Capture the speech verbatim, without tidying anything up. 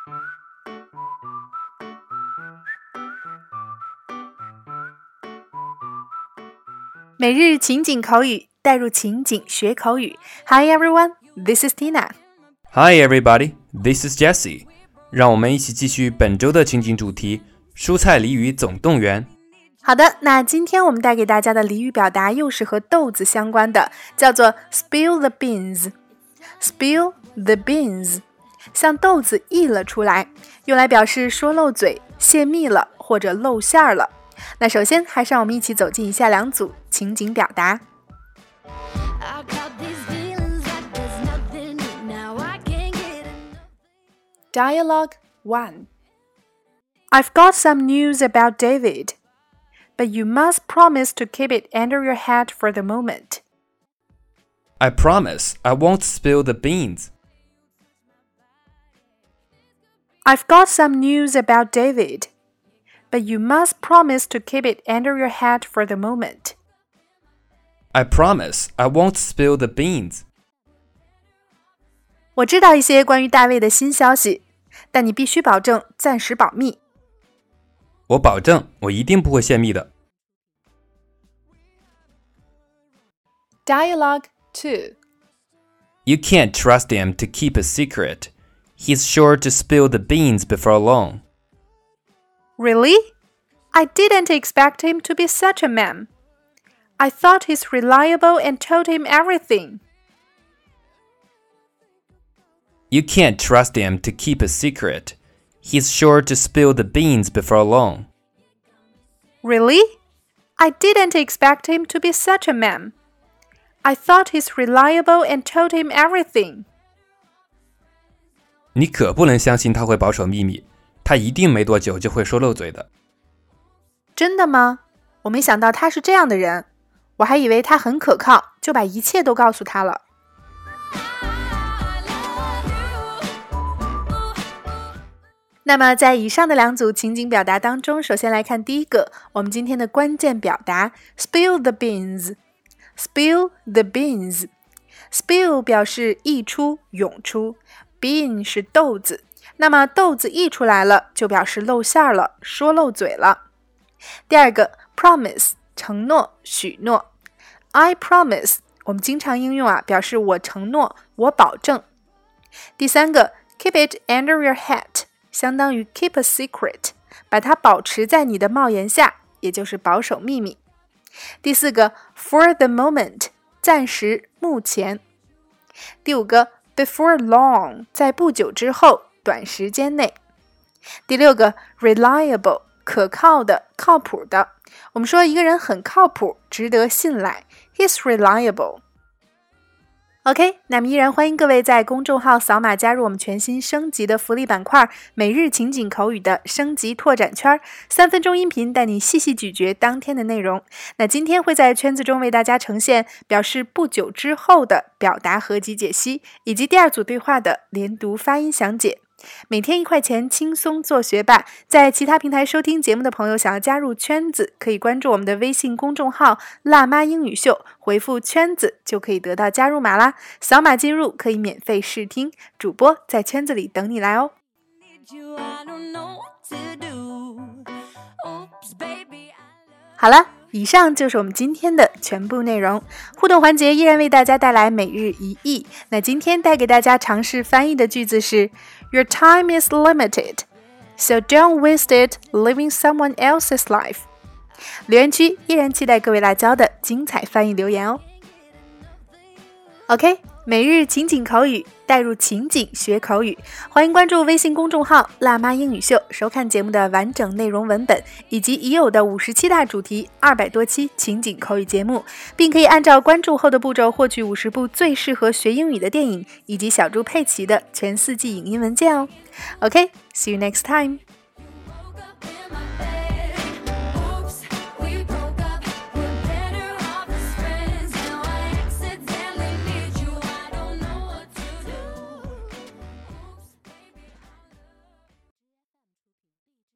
每日情景口语，带入情景学口语。Hi everyone, this is Tina. Hi everybody, this is Jessie. 让我们一起继续本周的情景主题——蔬菜俚语总动员。 好的，那今天我们带给大家的俚语表达又是和豆子相关的，叫做 spill the beans. Spill the beans， 像豆子溢了出来，用来表示说漏嘴、泄密了或者露馅儿了。那首先还是让我们一起走进以下两组情景表达。Dialogue one. I've got some news about David, but you must promise to keep it under your hat for the moment. I promise I won't spill the beans. I've got some news about David, but you must promise to keep it under your hat for the moment. I promise I won't spill the beans. 我知道一些关于大卫的新消息，但你必须保证暂时保密。 我保证，我一定不会泄密的。 Dialogue two. You can't trust him to keep a secret. He's sure to spill the beans before long. Really? I didn't expect him to be such a man. I thought he's reliable and told him everything. You can't trust him to keep a secret. He's sure to spill the beans before long. Really? I didn't expect him to be such a man. I thought he's reliable and told him everything. 你可不能相信他会保守秘密，他一定没多久就会说漏嘴的。 真的吗？我没想到他是这样的人，我还以为他很可靠，就把一切都告诉他了。那么在以上的两组情景表达当中，首先来看第一个，我们今天的关键表达 spill the beans. Spill the beans. Spill 表示溢出、涌出， bean 是豆子，那么豆子溢出来了，就表示露馅了，说漏嘴了。第二个 promise 承诺、许诺， I promise 我们经常应用啊，表示我承诺、我保证。第三个 keep it under your hat， 相当于 keep a secret， 把它保持在你的帽檐下，也就是保守秘密。第四个 for the moment， 暂时、目前。第五个 before long， 在不久之后、短时间内。第六个 reliable， 可靠的、靠谱的。我们说一个人很靠谱，值得信赖。He's reliable. OK， 那么依然欢迎各位在公众号扫码加入我们全新升级的福利板块每日情景口语的升级拓展圈，三分钟音频带你细细咀嚼当天的内容。那今天会在圈子中为大家呈现表示不久之后的表达合集解析，以及第二组对话的连读发音详解。每天一块钱，轻松做学霸。在其他平台收听节目的朋友，想要加入圈子，可以关注我们的微信公众号辣妈英语秀，回复圈子就可以得到加入码啦。扫码进入可以免费试听，主播在圈子里等你来哦。好了，以上就是我们今天的全部内容。互动环节依然为大家带来每日一译。那今天带给大家尝试翻译的句子是 Your time is limited, so don't waste it living someone else's life. 留言区依然期待各位辣椒的精彩翻译留言哦。OK， 每日情景口语，带入情景学口语。欢迎关注微信公众号辣妈英语秀，收看节目的完整内容文本，以及已有的五十七大主题、二百多期情景口语节目，并可以按照关注后的步骤获取五十部最适合学英语的电影，以及小猪佩奇的全四季影音文件哦。OK，see you next time.